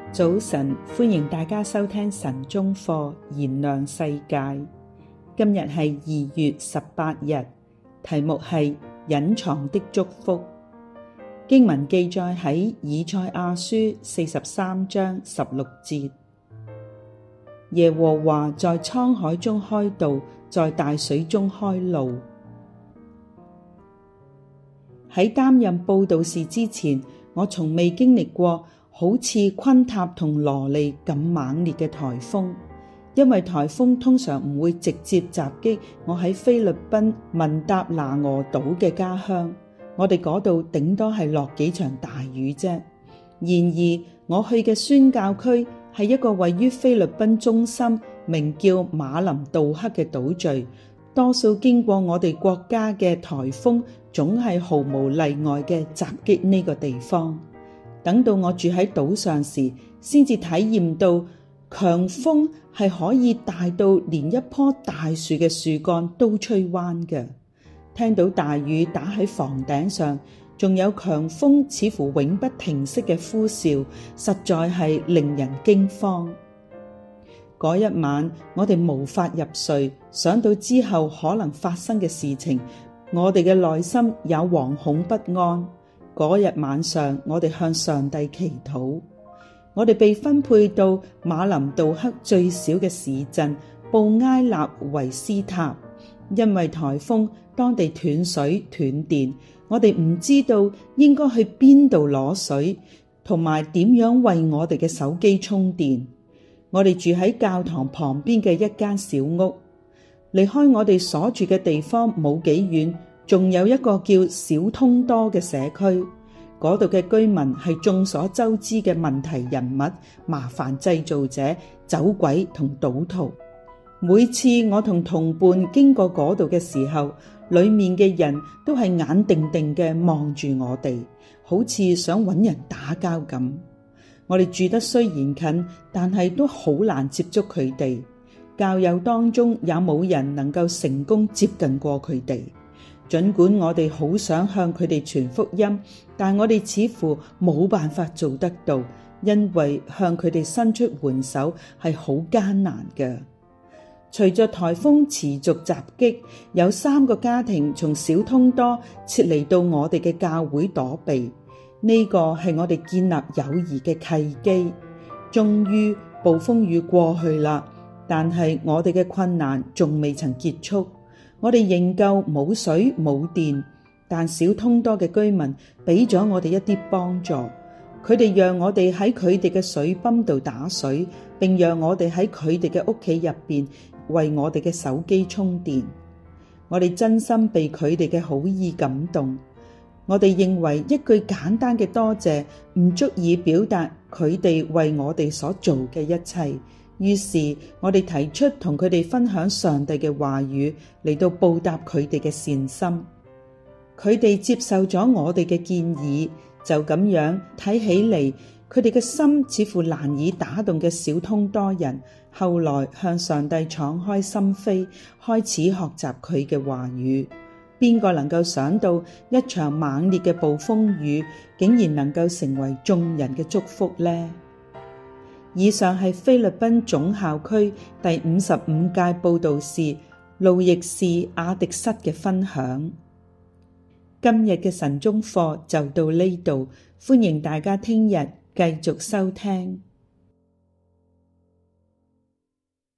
早晨，歡迎大家收聽晨鐘課，燃亮世界。今日係2月18日，題目係隱藏的祝福。經文記載喺以賽亞書43章16節。耶和華在滄海中開道，在大水中開路。喺擔任佈道士之前，我從未經歷過好似昆塔同羅利咁猛烈嘅颱風，因為颱風通常唔會直接襲擊我喺菲律賓民達拿俄島嘅家鄉，我哋嗰度頂多係落幾場大雨啫。然而我去嘅宣教區係一個位於菲律賓中心，名叫馬林杜克嘅島嶼，多數經過我哋國家嘅颱風總係毫無例外嘅襲擊呢個地方。等到我住喺島上時，先至體驗到強風係可以大到連一棵大樹嘅樹幹都吹彎嘅。聽到大雨打喺房頂上，仲有強風似乎永不停息嘅呼嘯，實在係令人驚慌。嗰一晚，我哋無法入睡，想到之後可能發生嘅事情，我哋嘅內心也惶恐不安。嗰日晚上，我哋向上帝祈禱。我哋被分配到馬林杜克最小嘅市鎮布埃納維斯塔，因為颱風，當地斷水斷電，我哋唔知道應該去邊度攞水，同埋點樣為我哋嘅手機充電。我哋住喺教堂旁邊嘅一間小屋，離開我哋所住嘅地方冇幾遠，仲有一個叫小通多嘅社區，嗰度嘅居民係眾所周知嘅問題人物、麻煩製造者、走鬼同賭徒。每次我同同伴經過嗰度嘅時候，裏面嘅人都係眼定定嘅望住我哋，好似想揾人打交咁。我哋住得雖然近，但係都好難接觸佢哋。教友當中也冇人能夠成功接近過佢哋。儘管我哋好想向佢哋傳福音，但我哋似乎冇辦法做得到，因為向佢哋伸出援手係好艱難嘅。隨着颱風持續襲擊，有3個家庭從小通多撤離到我哋嘅教會躲避。呢個係我哋建立友誼嘅契機。終於暴風雨過去啦，但係我哋嘅困難仲未曾結束。我哋仍舊冇水冇電，但小通多嘅居民俾咗我哋一啲幫助。佢哋讓我哋喺佢哋嘅水泵度打水，並讓我哋喺佢哋嘅屋企入邊為我哋嘅手機充電。我哋真心被佢哋嘅好意感動。我哋認為一句簡單嘅多謝唔足以表達佢哋為我哋所做嘅一切。於是我哋提出同佢哋分享上帝嘅話語，嚟到報答佢哋嘅善心。佢哋接受咗我哋嘅建議，就咁樣睇起嚟，佢哋嘅心似乎難以打動嘅小通多人，後來向上帝敞開心扉，開始學習佢嘅話語。邊個能夠想到一場猛烈嘅暴風雨，竟然能夠成為眾人嘅祝福呢？以上係菲律賓總校區第55屆佈道士路易士亞迪塞嘅分享。今日嘅晨鐘課就到呢度，歡迎大家聽日繼續收聽。